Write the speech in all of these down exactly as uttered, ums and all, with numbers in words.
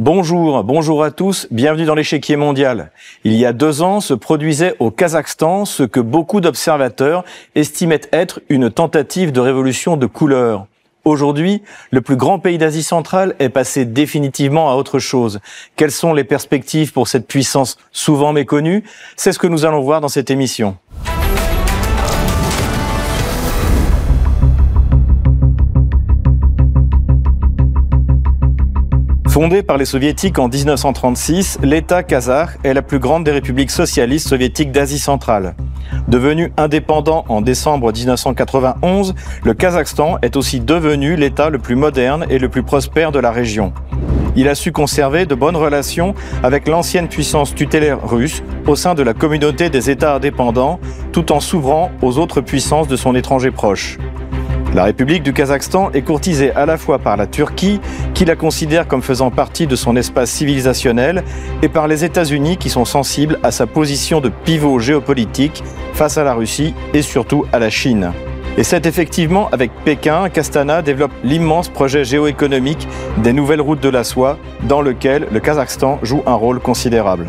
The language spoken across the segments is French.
Bonjour, bonjour à tous, bienvenue dans l'échiquier mondial. Il y a deux ans se produisait au Kazakhstan ce que beaucoup d'observateurs estimaient être une tentative de révolution de couleur. Aujourd'hui, le plus grand pays d'Asie centrale est passé définitivement à autre chose. Quelles sont les perspectives pour cette puissance souvent méconnue? C'est ce que nous allons voir dans cette émission. Fondé par les soviétiques en dix-neuf cent trente-six, l'État kazakh est la plus grande des républiques socialistes soviétiques d'Asie centrale. Devenu indépendant en décembre dix-neuf cent quatre-vingt-onze, le Kazakhstan est aussi devenu l'État le plus moderne et le plus prospère de la région. Il a su conserver de bonnes relations avec l'ancienne puissance tutélaire russe au sein de la communauté des États indépendants, tout en s'ouvrant aux autres puissances de son étranger proche. La République du Kazakhstan est courtisée à la fois par la Turquie, qui la considère comme faisant partie de son espace civilisationnel, et par les États-Unis qui sont sensibles à sa position de pivot géopolitique face à la Russie et surtout à la Chine. Et c'est effectivement avec Pékin qu'Astana développe l'immense projet géoéconomique des nouvelles routes de la soie, dans lequel le Kazakhstan joue un rôle considérable.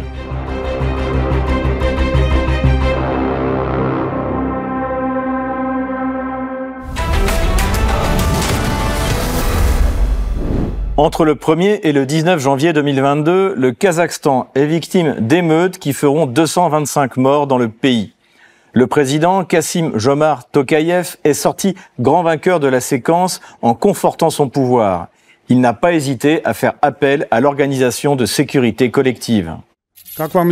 Entre le premier et le dix-neuf janvier deux mille vingt-deux, le Kazakhstan est victime d'émeutes qui feront deux cent vingt-cinq morts dans le pays. Le président Kassym-Jomart Tokayev est sorti grand vainqueur de la séquence en confortant son pouvoir. Il n'a pas hésité à faire appel à l'organisation de sécurité collective. Comme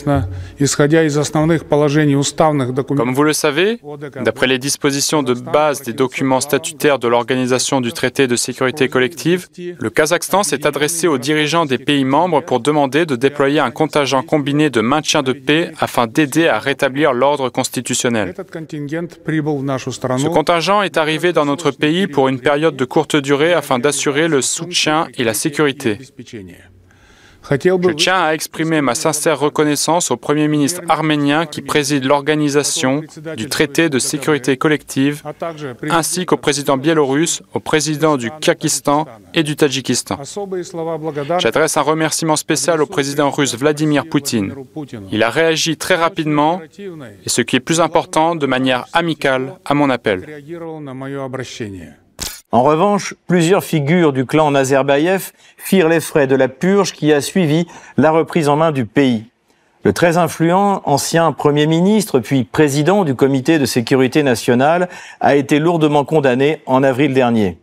vous le savez, d'après les dispositions de base des documents statutaires de l'Organisation du traité de sécurité collective, le Kazakhstan s'est adressé aux dirigeants des pays membres pour demander de déployer un contingent combiné de maintien de paix afin d'aider à rétablir l'ordre constitutionnel. Ce contingent est arrivé dans notre pays pour une période de courte durée afin d'assurer le soutien et la sécurité. Je tiens à exprimer ma sincère reconnaissance au Premier ministre arménien qui préside l'organisation du traité de sécurité collective, ainsi qu'au président biélorusse, au président du Kyrgyzstan et du Tadjikistan. J'adresse un remerciement spécial au président russe Vladimir Poutine. Il a réagi très rapidement et, ce qui est plus important, de manière amicale à mon appel. En revanche, plusieurs figures du clan Nazarbayev firent les frais de la purge qui a suivi la reprise en main du pays. Le très influent ancien Premier ministre, puis président du Comité de sécurité nationale, a été lourdement condamné en avril dernier.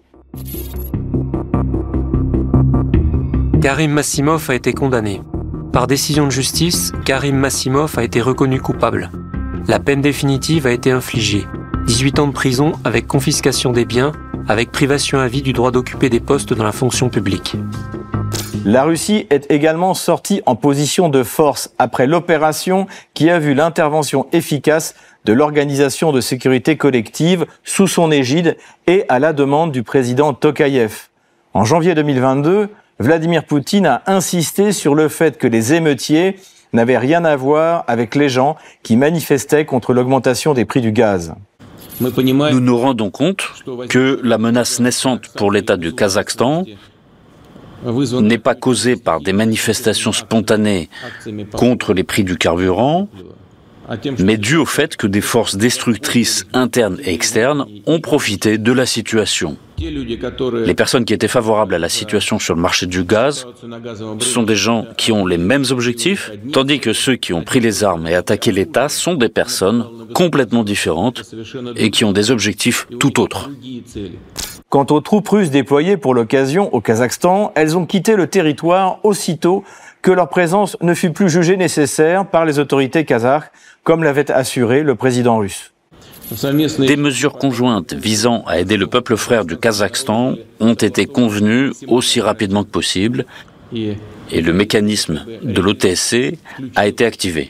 Karim Massimov a été condamné. Par décision de justice, Karim Massimov a été reconnu coupable. La peine définitive a été infligée. dix-huit ans de prison avec confiscation des biens, avec privation à vie du droit d'occuper des postes dans la fonction publique. La Russie est également sortie en position de force après l'opération qui a vu l'intervention efficace de l'Organisation de sécurité collective sous son égide et à la demande du président Tokayev. En janvier deux mille vingt-deux, Vladimir Poutine a insisté sur le fait que les émeutiers n'avaient rien à voir avec les gens qui manifestaient contre l'augmentation des prix du gaz. Nous nous rendons compte que la menace naissante pour l'État du Kazakhstan n'est pas causée par des manifestations spontanées contre les prix du carburant, mais due au fait que des forces destructrices internes et externes ont profité de la situation. Les personnes qui étaient favorables à la situation sur le marché du gaz sont des gens qui ont les mêmes objectifs, tandis que ceux qui ont pris les armes et attaqué l'État sont des personnes complètement différentes et qui ont des objectifs tout autres. Quant aux troupes russes déployées pour l'occasion au Kazakhstan, elles ont quitté le territoire aussitôt que leur présence ne fut plus jugée nécessaire par les autorités kazakhes, comme l'avait assuré le président russe. Des mesures conjointes visant à aider le peuple frère du Kazakhstan ont été convenues aussi rapidement que possible et le mécanisme de l'O T S C a été activé.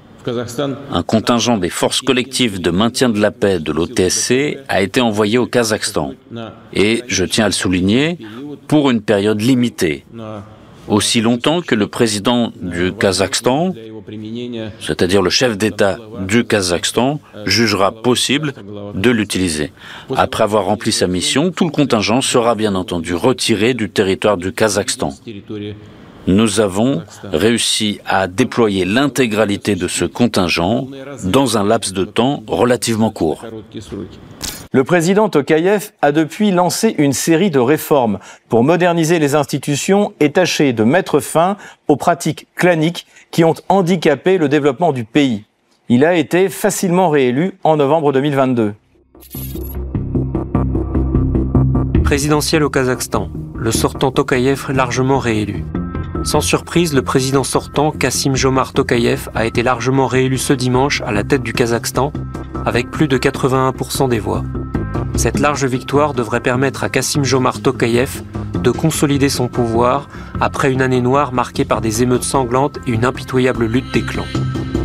Un contingent des forces collectives de maintien de la paix de l'O T S C a été envoyé au Kazakhstan et, je tiens à le souligner, pour une période limitée, aussi longtemps que le président du Kazakhstan, c'est-à-dire le chef d'État du Kazakhstan, jugera possible de l'utiliser. Après avoir rempli sa mission, tout le contingent sera bien entendu retiré du territoire du Kazakhstan. nous avons réussi à déployer l'intégralité de ce contingent dans un laps de temps relativement court. Le président Tokayev a depuis lancé une série de réformes pour moderniser les institutions et tâcher de mettre fin aux pratiques claniques qui ont handicapé le développement du pays. Il a été facilement réélu en novembre deux mille vingt-deux. Présidentiel au Kazakhstan, le sortant Tokayev largement réélu. Sans surprise, le président sortant Kassym-Jomart Tokayev a été largement réélu ce dimanche à la tête du Kazakhstan avec plus de quatre-vingt-un pour cent des voix. Cette large victoire devrait permettre à Kassym-Jomart Tokayev de consolider son pouvoir après une année noire marquée par des émeutes sanglantes et une impitoyable lutte des clans.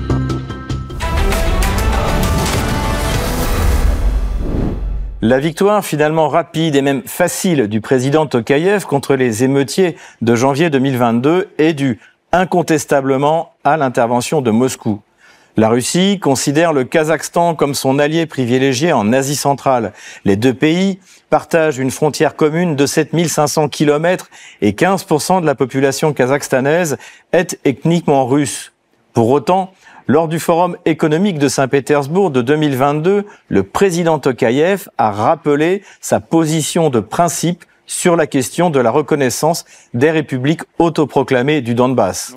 La victoire finalement rapide et même facile du président Tokayev contre les émeutiers de janvier deux mille vingt-deux est due incontestablement à l'intervention de Moscou. La Russie considère le Kazakhstan comme son allié privilégié en Asie centrale. Les deux pays partagent une frontière commune de sept mille cinq cents kilomètres et quinze pour cent de la population kazakhstanaise est ethniquement russe. Pour autant, lors du Forum économique de Saint-Pétersbourg de deux mille vingt-deux, le président Tokayev a rappelé sa position de principe sur la question de la reconnaissance des républiques autoproclamées du Donbass.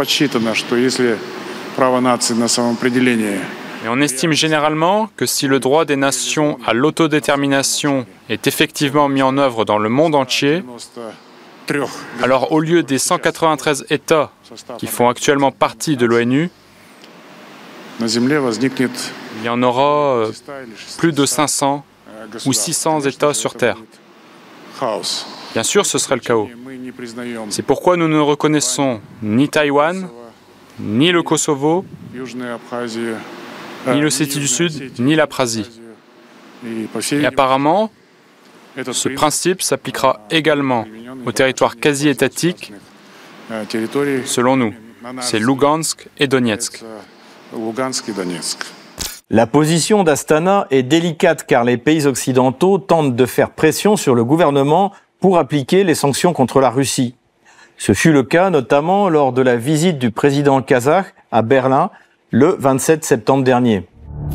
Et on estime généralement que si le droit des nations à l'autodétermination est effectivement mis en œuvre dans le monde entier, alors au lieu des cent quatre-vingt-treize États qui font actuellement partie de l'ONU, il y en aura euh, plus de cinq cents ou six cents États sur Terre. Bien sûr, ce serait le chaos. C'est pourquoi nous ne reconnaissons ni Taïwan, ni le Kosovo, ni l'Ossétie du Sud, ni l'Abkhazie. Et apparemment, ce principe s'appliquera également aux territoires quasi-étatiques, selon nous. C'est Lugansk et Donetsk. La position d'Astana est délicate car les pays occidentaux tentent de faire pression sur le gouvernement pour appliquer les sanctions contre la Russie. Ce fut le cas notamment lors de la visite du président kazakh à Berlin le vingt-sept septembre dernier.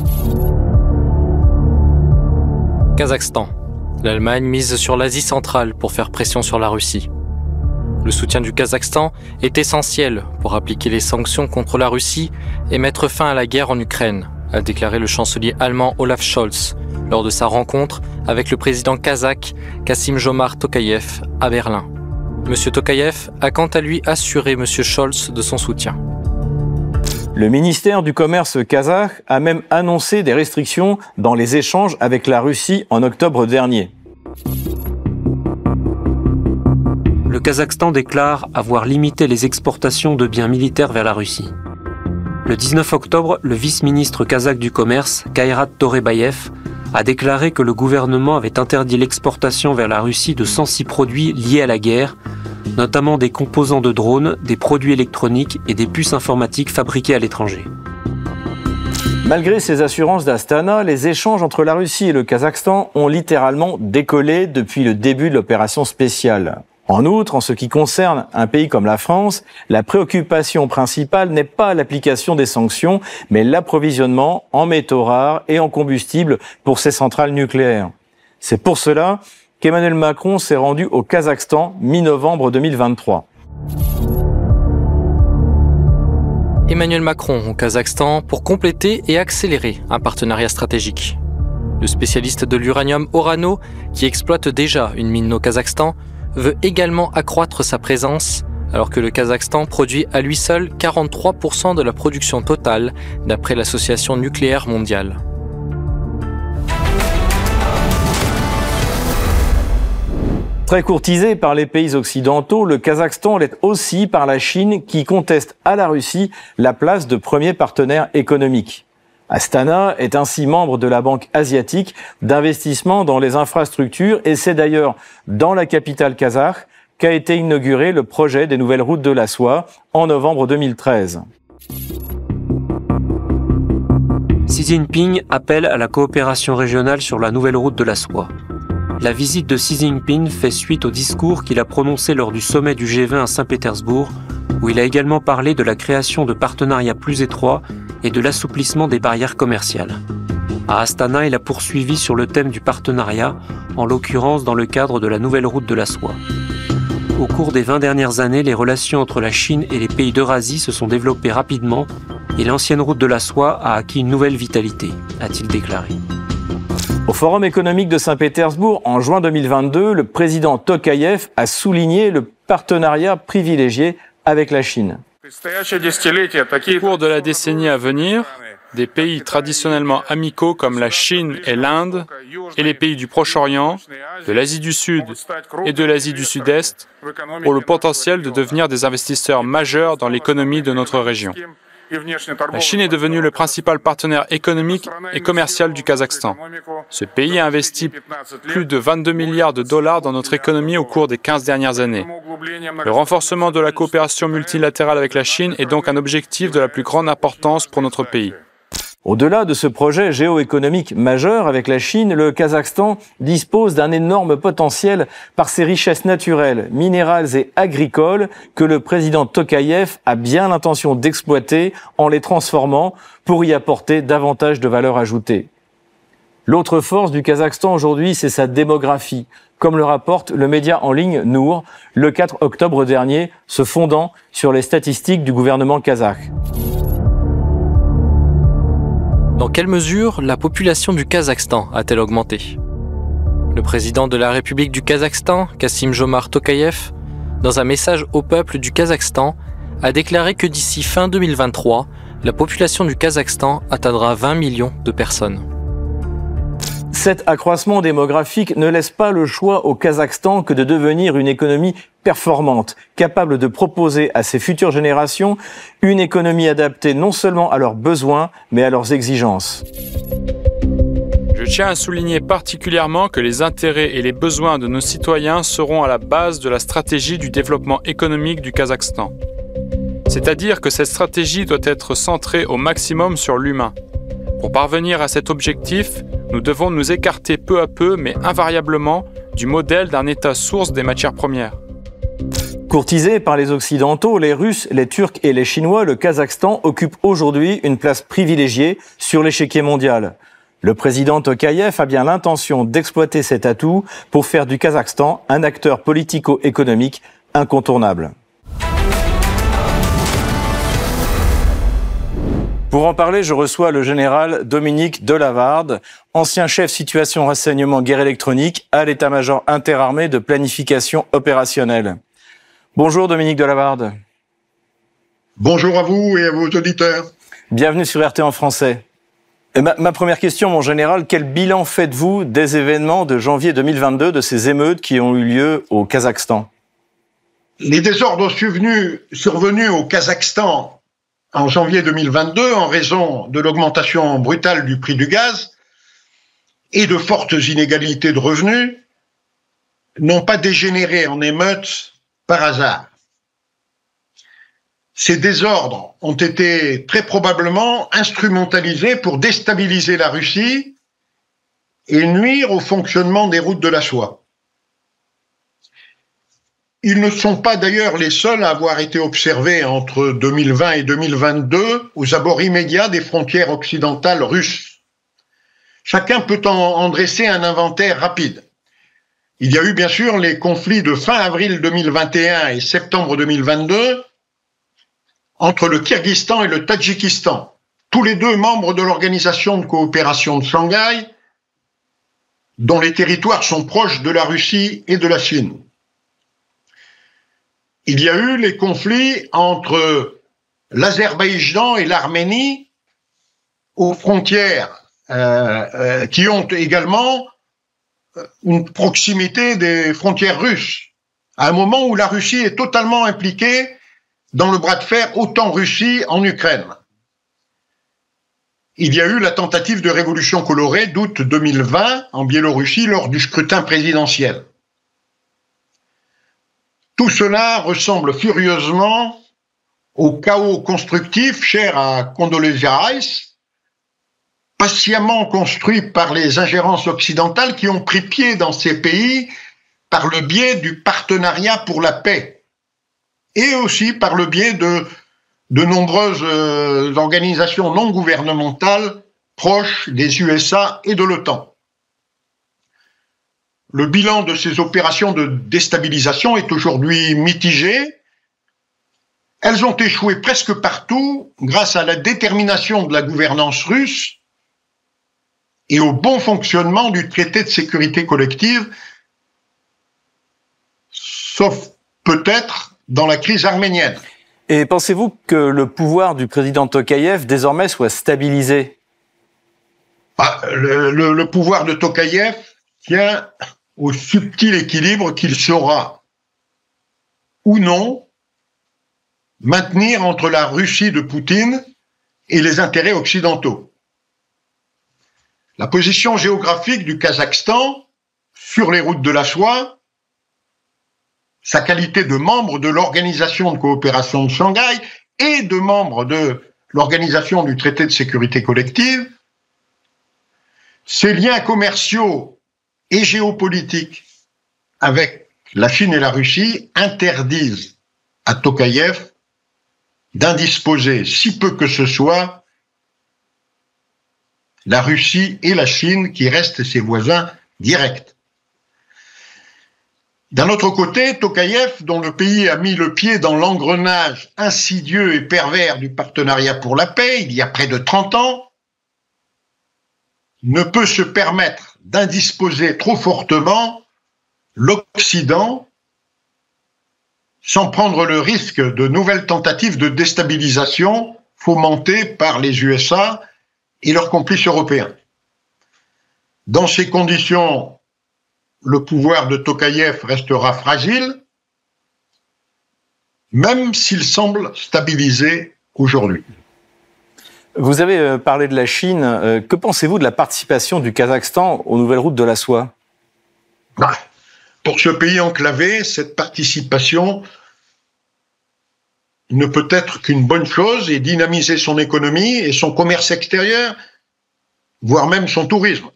Kazakhstan. L'Allemagne mise sur l'Asie centrale pour faire pression sur la Russie. Le soutien du Kazakhstan est essentiel pour appliquer les sanctions contre la Russie et mettre fin à la guerre en Ukraine, a déclaré le chancelier allemand Olaf Scholz lors de sa rencontre avec le président kazakh Kassym-Jomart Tokayev à Berlin. Monsieur Tokayev a quant à lui assuré Monsieur Scholz de son soutien. Le ministère du Commerce kazakh a même annoncé des restrictions dans les échanges avec la Russie en octobre dernier. Le Kazakhstan déclare avoir limité les exportations de biens militaires vers la Russie. Le dix-neuf octobre, le vice-ministre kazakh du Commerce, Kairat Torebayev, a déclaré que le gouvernement avait interdit l'exportation vers la Russie de cent six produits liés à la guerre, notamment des composants de drones, des produits électroniques et des puces informatiques fabriquées à l'étranger. Malgré ces assurances d'Astana, les échanges entre la Russie et le Kazakhstan ont littéralement décollé depuis le début de l'opération spéciale. En outre, en ce qui concerne un pays comme la France, la préoccupation principale n'est pas l'application des sanctions, mais l'approvisionnement en métaux rares et en combustible pour ces centrales nucléaires. C'est pour cela qu'Emmanuel Macron s'est rendu au Kazakhstan mi-novembre deux mille vingt-trois. Emmanuel Macron au Kazakhstan pour compléter et accélérer un partenariat stratégique. Le spécialiste de l'uranium Orano, qui exploite déjà une mine au Kazakhstan, veut également accroître sa présence, alors que le Kazakhstan produit à lui seul quarante-trois pour cent de la production totale, d'après l'Association nucléaire mondiale. Très courtisé par les pays occidentaux, le Kazakhstan l'est aussi par la Chine qui conteste à la Russie la place de premier partenaire économique. Astana est ainsi membre de la Banque asiatique d'investissement dans les infrastructures et c'est d'ailleurs dans la capitale kazakh qu'a été inauguré le projet des nouvelles routes de la soie en novembre deux mille treize. Xi Jinping appelle à la coopération régionale sur la nouvelle route de la soie. La visite de Xi Jinping fait suite au discours qu'il a prononcé lors du sommet du G vingt à Saint-Pétersbourg, où il a également parlé de la création de partenariats plus étroits et de l'assouplissement des barrières commerciales. À Astana, il a poursuivi sur le thème du partenariat, en l'occurrence dans le cadre de la nouvelle route de la soie. Au cours des vingt dernières années, les relations entre la Chine et les pays d'Eurasie se sont développées rapidement et l'ancienne route de la soie a acquis une nouvelle vitalité, a-t-il déclaré. Au Forum économique de Saint-Pétersbourg, en juin deux mille vingt-deux, le président Tokayev a souligné le partenariat privilégié avec la Chine. Au cours de la décennie à venir, des pays traditionnellement amicaux comme la Chine et l'Inde et les pays du Proche-Orient, de l'Asie du Sud et de l'Asie du Sud-Est ont le potentiel de devenir des investisseurs majeurs dans l'économie de notre région. La Chine est devenue le principal partenaire économique et commercial du Kazakhstan. Ce pays a investi plus de vingt-deux milliards de dollars dans notre économie au cours des quinze dernières années. Le renforcement de la coopération multilatérale avec la Chine est donc un objectif de la plus grande importance pour notre pays. Au-delà de ce projet géoéconomique majeur avec la Chine, le Kazakhstan dispose d'un énorme potentiel par ses richesses naturelles, minérales et agricoles que le président Tokayev a bien l'intention d'exploiter en les transformant pour y apporter davantage de valeur ajoutée. L'autre force du Kazakhstan aujourd'hui, c'est sa démographie, comme le rapporte le média en ligne Nour le quatre octobre dernier, se fondant sur les statistiques du gouvernement kazakh. Dans quelle mesure la population du Kazakhstan a-t-elle augmenté ? Le président de la République du Kazakhstan, Kassym-Jomart Tokayev, dans un message au peuple du Kazakhstan, a déclaré que d'ici fin deux mille vingt-trois, la population du Kazakhstan atteindra vingt millions de personnes. Cet accroissement démographique ne laisse pas le choix au Kazakhstan que de devenir une économie performante, capable de proposer à ses futures générations une économie adaptée non seulement à leurs besoins, mais à leurs exigences. Je tiens à souligner particulièrement que les intérêts et les besoins de nos citoyens seront à la base de la stratégie du développement économique du Kazakhstan. C'est-à-dire que cette stratégie doit être centrée au maximum sur l'humain. Pour parvenir à cet objectif, nous devons nous écarter peu à peu, mais invariablement, du modèle d'un État source des matières premières. Courtisé par les Occidentaux, les Russes, les Turcs et les Chinois, le Kazakhstan occupe aujourd'hui une place privilégiée sur l'échiquier mondial. Le président Tokayev a bien l'intention d'exploiter cet atout pour faire du Kazakhstan un acteur politico-économique incontournable. Pour en parler, je reçois le général Dominique Delavarde, ancien chef situation renseignement guerre électronique à l'état-major interarmé de planification opérationnelle. Bonjour Dominique Delavarde. Bonjour à vous et à vos auditeurs. Bienvenue sur R T en français. Et ma, ma première question, mon général, quel bilan faites-vous des événements de janvier deux mille vingt-deux, de ces émeutes qui ont eu lieu au Kazakhstan ? Les désordres survenus, survenus au Kazakhstan en janvier deux mille vingt-deux, en raison de l'augmentation brutale du prix du gaz et de fortes inégalités de revenus, n'ont pas dégénéré en émeutes par hasard. Ces désordres ont été très probablement instrumentalisés pour déstabiliser la Russie et nuire au fonctionnement des routes de la soie. Ils ne sont pas d'ailleurs les seuls à avoir été observés entre deux mille vingt et deux mille vingt-deux aux abords immédiats des frontières occidentales russes. Chacun peut en, en dresser un inventaire rapide. Il y a eu bien sûr les conflits de fin avril deux mille vingt et un et septembre deux mille vingt-deux entre le Kirghizistan et le Tadjikistan, tous les deux membres de l'Organisation de coopération de Shanghai, dont les territoires sont proches de la Russie et de la Chine. Il y a eu les conflits entre l'Azerbaïdjan et l'Arménie aux frontières euh, euh, qui ont également une proximité des frontières russes, à un moment où la Russie est totalement impliquée dans le bras de fer OTAN-Russie en Ukraine. Il y a eu la tentative de révolution colorée d'août deux mille vingt en Biélorussie lors du scrutin présidentiel. Tout cela ressemble furieusement au chaos constructif cher à Condoleezza Rice, patiemment construit par les ingérences occidentales qui ont pris pied dans ces pays par le biais du partenariat pour la paix et aussi par le biais de, de nombreuses euh, organisations non gouvernementales proches des U S A et de l'OTAN. Le bilan de ces opérations de déstabilisation est aujourd'hui mitigé. Elles ont échoué presque partout grâce à la détermination de la gouvernance russe et au bon fonctionnement du traité de sécurité collective, sauf peut-être dans la crise arménienne. Et pensez-vous que le pouvoir du président Tokayev désormais soit stabilisé ? Ah, le, le, le pouvoir de Tokayev tient au subtil équilibre qu'il saura, ou non, maintenir entre la Russie de Poutine et les intérêts occidentaux. La position géographique du Kazakhstan sur les routes de la soie, sa qualité de membre de l'Organisation de coopération de Shanghai et de membre de l'Organisation du traité de sécurité collective, ses liens commerciaux et géopolitiques avec la Chine et la Russie interdisent à Tokayev d'indisposer, si peu que ce soit, la Russie et la Chine qui restent ses voisins directs. D'un autre côté, Tokayev, dont le pays a mis le pied dans l'engrenage insidieux et pervers du partenariat pour la paix il y a près de trente ans, ne peut se permettre d'indisposer trop fortement l'Occident sans prendre le risque de nouvelles tentatives de déstabilisation fomentées par les U S A et leurs complices européens. Dans ces conditions, le pouvoir de Tokayev restera fragile, même s'il semble stabilisé aujourd'hui. Vous avez parlé de la Chine. Que pensez-vous de la participation du Kazakhstan aux nouvelles routes de la soie ? Pour ce pays enclavé, cette participation ne peut être qu'une bonne chose et dynamiser son économie et son commerce extérieur, voire même son tourisme.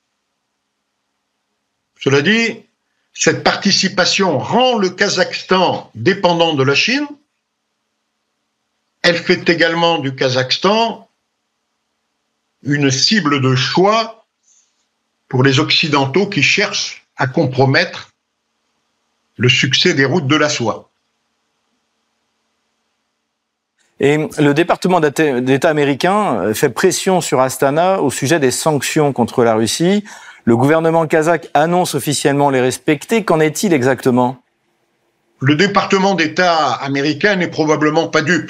Cela dit, cette participation rend le Kazakhstan dépendant de la Chine. Elle fait également du Kazakhstan une cible de choix pour les Occidentaux qui cherchent à compromettre le succès des routes de la soie. Et le département d'État américain fait pression sur Astana au sujet des sanctions contre la Russie. Le gouvernement kazakh annonce officiellement les respecter. Qu'en est-il exactement ? Le département d'État américain n'est probablement pas dupe.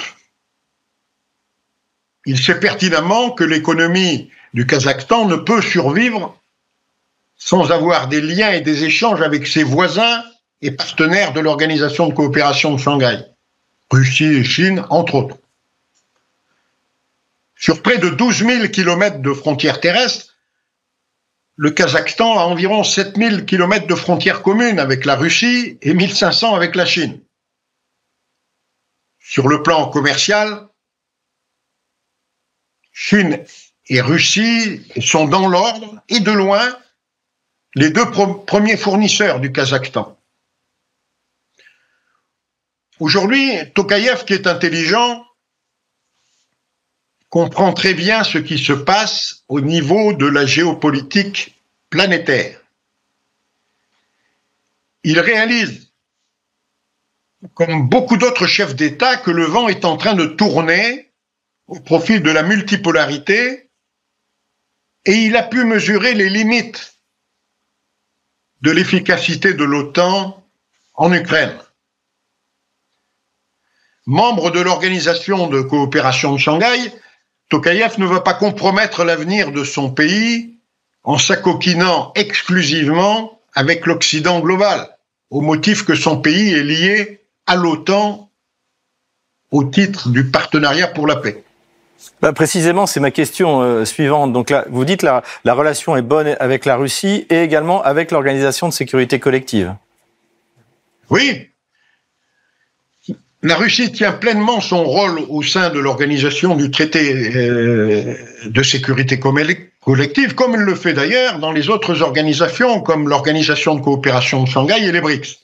Il sait pertinemment que l'économie du Kazakhstan ne peut survivre sans avoir des liens et des échanges avec ses voisins et partenaires de l'Organisation de coopération de Shanghai, Russie et Chine, entre autres. Sur près de douze mille kilomètres de frontières terrestres, le Kazakhstan a environ sept mille kilomètres de frontières communes avec la Russie et mille cinq cents avec la Chine. Sur le plan commercial, Chine et Russie sont dans l'ordre et de loin les deux premiers fournisseurs du Kazakhstan. Aujourd'hui, Tokayev, qui est intelligent, comprend très bien ce qui se passe au niveau de la géopolitique planétaire. Il réalise, comme beaucoup d'autres chefs d'État, que le vent est en train de tourner au profit de la multipolarité, et il a pu mesurer les limites de l'efficacité de l'OTAN en Ukraine. Membre de l'Organisation de coopération de Shanghai, Tokayev ne veut pas compromettre l'avenir de son pays en s'acoquinant exclusivement avec l'Occident global, au motif que son pays est lié à l'OTAN au titre du partenariat pour la paix. Bah précisément, c'est ma question euh, suivante. Donc là, vous dites que la, la relation est bonne avec la Russie et également avec l'Organisation de sécurité collective. Oui. La Russie tient pleinement son rôle au sein de l'organisation du traité euh, de sécurité collective, comme elle le fait d'ailleurs dans les autres organisations, comme l'Organisation de coopération de Shanghai et les BRICS.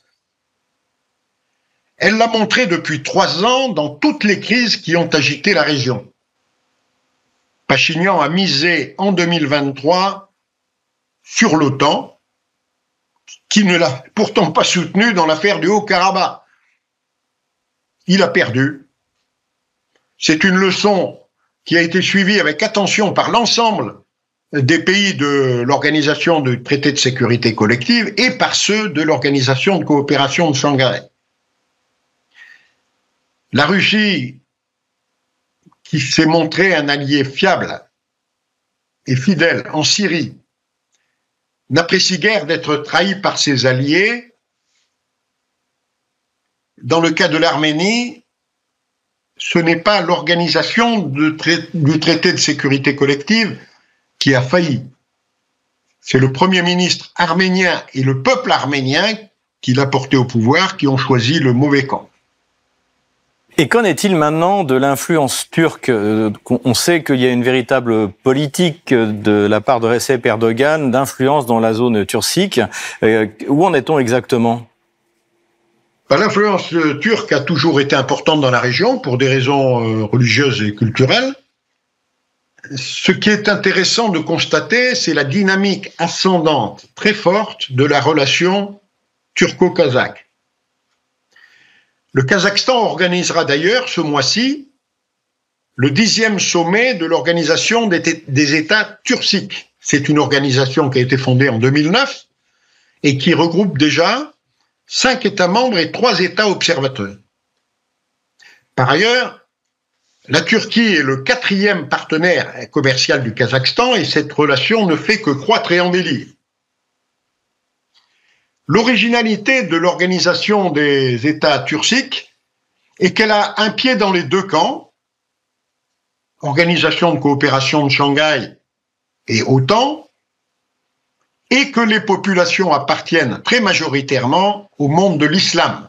Elle l'a montré depuis trois ans dans toutes les crises qui ont agité la région. Pachinian a misé en deux mille vingt-trois sur l'OTAN, qui ne l'a pourtant pas soutenu dans l'affaire du Haut-Karabakh. Il a perdu. C'est une leçon qui a été suivie avec attention par l'ensemble des pays de l'Organisation du traité de sécurité collective et par ceux de l'Organisation de coopération de Shanghai. La Russie, qui s'est montrée un allié fiable et fidèle en Syrie, n'apprécie guère d'être trahie par ses alliés. Dans le cas de l'Arménie, ce n'est pas l'organisation du traité de sécurité collective qui a failli. C'est le Premier ministre arménien et le peuple arménien qui l'a porté au pouvoir qui ont choisi le mauvais camp. Et qu'en est-il maintenant de l'influence turque ? On sait qu'il y a une véritable politique de la part de Recep Erdogan d'influence dans la zone turcique. Où en est-on exactement ? L'influence turque a toujours été importante dans la région pour des raisons religieuses et culturelles. Ce qui est intéressant de constater, c'est la dynamique ascendante très forte de la relation turco-kazakh. Le Kazakhstan organisera d'ailleurs ce mois-ci le dixième sommet de l'Organisation des États turciques. C'est une organisation qui a été fondée en deux mille neuf et qui regroupe déjà cinq États membres et trois États observateurs. Par ailleurs, la Turquie est le quatrième partenaire commercial du Kazakhstan et cette relation ne fait que croître et embellir. L'originalité de l'Organisation des États turciques est qu'elle a un pied dans les deux camps, Organisation de coopération de Shanghai et OTAN, et que les populations appartiennent très majoritairement au monde de l'islam.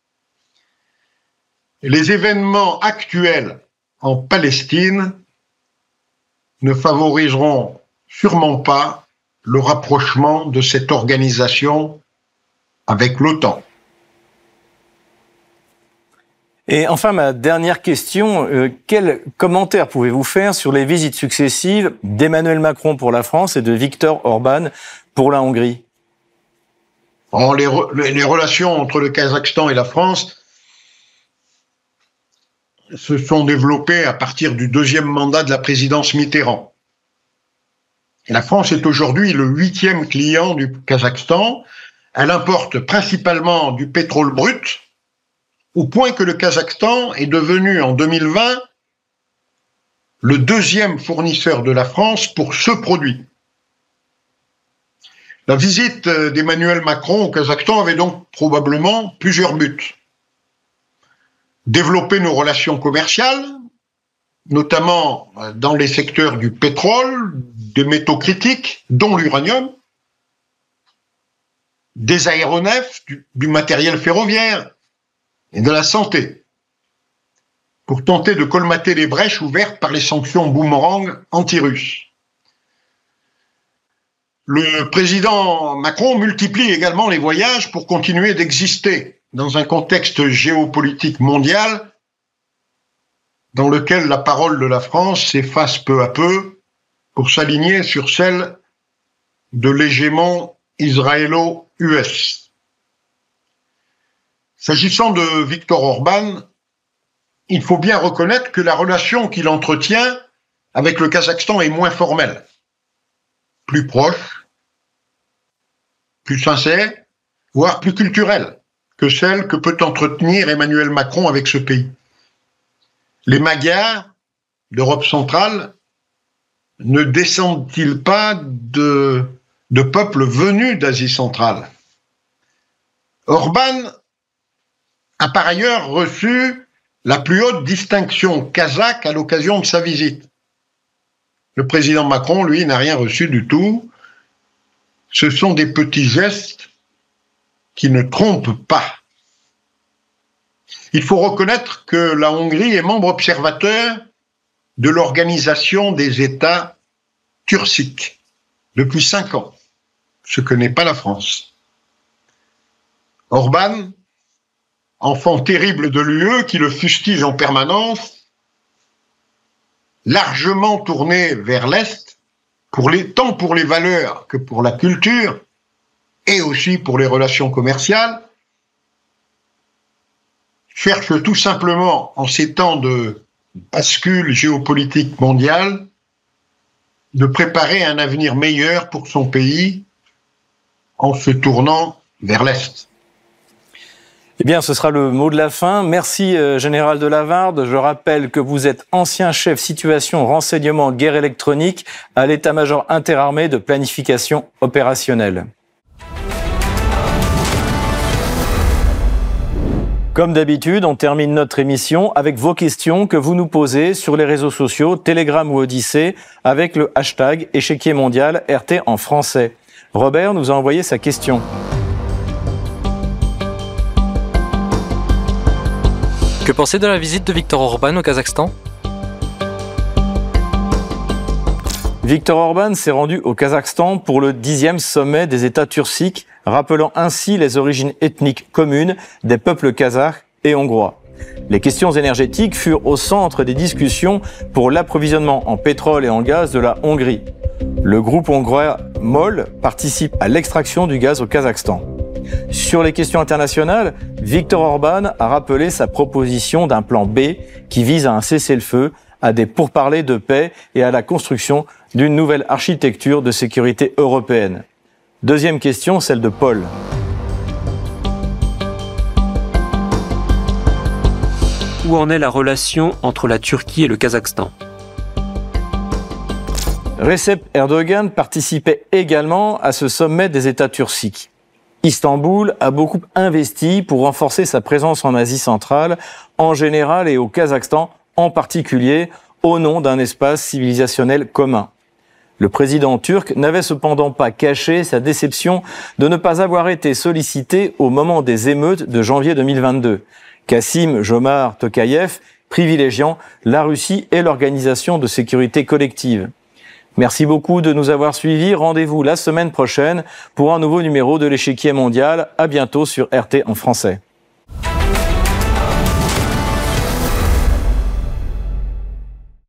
Les événements actuels en Palestine ne favoriseront sûrement pas le rapprochement de cette organisation avec l'OTAN. Et enfin, ma dernière question, euh, quel commentaire pouvez-vous faire sur les visites successives d'Emmanuel Macron pour la France et de Viktor Orban pour la Hongrie ? Oh, les, re, les relations entre le Kazakhstan et la France se sont développées à partir du deuxième mandat de la présidence Mitterrand. Et la France est aujourd'hui le huitième client du Kazakhstan. Elle importe principalement du pétrole brut, au point que le Kazakhstan est devenu en deux mille vingt le deuxième fournisseur de la France pour ce produit. La visite d'Emmanuel Macron au Kazakhstan avait donc probablement plusieurs buts. Développer nos relations commerciales, notamment dans les secteurs du pétrole, des métaux critiques, dont l'uranium, des aéronefs, du, du matériel ferroviaire et de la santé, pour tenter de colmater les brèches ouvertes par les sanctions boomerang anti-russes. Le président Macron multiplie également les voyages pour continuer d'exister dans un contexte géopolitique mondial dans lequel la parole de la France s'efface peu à peu pour s'aligner sur celle de l'hégémon israélo-U S. S'agissant de Viktor Orban, il faut bien reconnaître que la relation qu'il entretient avec le Kazakhstan est moins formelle, plus proche, plus sincère, voire plus culturelle que celle que peut entretenir Emmanuel Macron avec ce pays. Les Magyars d'Europe centrale ne descendent-ils pas de, de peuples venus d'Asie centrale? Orban a par ailleurs reçu la plus haute distinction kazakh à l'occasion de sa visite. Le président Macron, lui, n'a rien reçu du tout. Ce sont des petits gestes qui ne trompent pas. Il faut reconnaître que la Hongrie est membre observateur de l'Organisation des États turciques depuis cinq ans, ce que n'est pas la France. Orban, enfant terrible de l'U E qui le fustige en permanence, largement tourné vers l'Est, pour les, tant pour les valeurs que pour la culture, et aussi pour les relations commerciales, cherche tout simplement, en ces temps de bascule géopolitique mondiale, de préparer un avenir meilleur pour son pays en se tournant vers l'Est. Eh bien, ce sera le mot de la fin. Merci, euh, Général de Lavarde. Je rappelle que vous êtes ancien chef situation renseignement guerre électronique à l'état-major interarmé de planification opérationnelle. Comme d'habitude, on termine notre émission avec vos questions que vous nous posez sur les réseaux sociaux, Telegram ou Odyssée, avec le hashtag échiquier mondial R T en français. Robert nous a envoyé sa question. Que penser de la visite de Viktor Orban au Kazakhstan ? Viktor Orban s'est rendu au Kazakhstan pour le dixième sommet des États turciques, rappelant ainsi les origines ethniques communes des peuples kazakhs et hongrois. Les questions énergétiques furent au centre des discussions pour l'approvisionnement en pétrole et en gaz de la Hongrie. Le groupe hongrois MOL participe à l'extraction du gaz au Kazakhstan. Sur les questions internationales, Viktor Orban a rappelé sa proposition d'un plan B qui vise à un cessez-le-feu, à des pourparlers de paix et à la construction d'une nouvelle architecture de sécurité européenne. Deuxième question, celle de Paul. Où en est la relation entre la Turquie et le Kazakhstan ? Recep Erdogan participait également à ce sommet des États turciques. Istanbul a beaucoup investi pour renforcer sa présence en Asie centrale, en général et au Kazakhstan en particulier, au nom d'un espace civilisationnel commun. Le président turc n'avait cependant pas caché sa déception de ne pas avoir été sollicité au moment des émeutes de janvier deux mille vingt-deux. Kasım-Jomart Tokayev privilégiant la Russie et l'Organisation de sécurité collective. Merci beaucoup de nous avoir suivis. Rendez-vous la semaine prochaine pour un nouveau numéro de l'échiquier mondial. À bientôt sur R T en français.